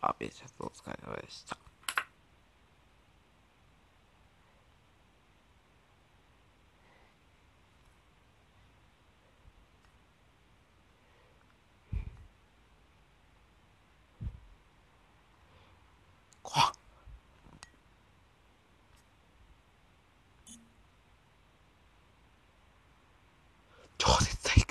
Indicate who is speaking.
Speaker 1: めちゃくちゃお疲れ様でした。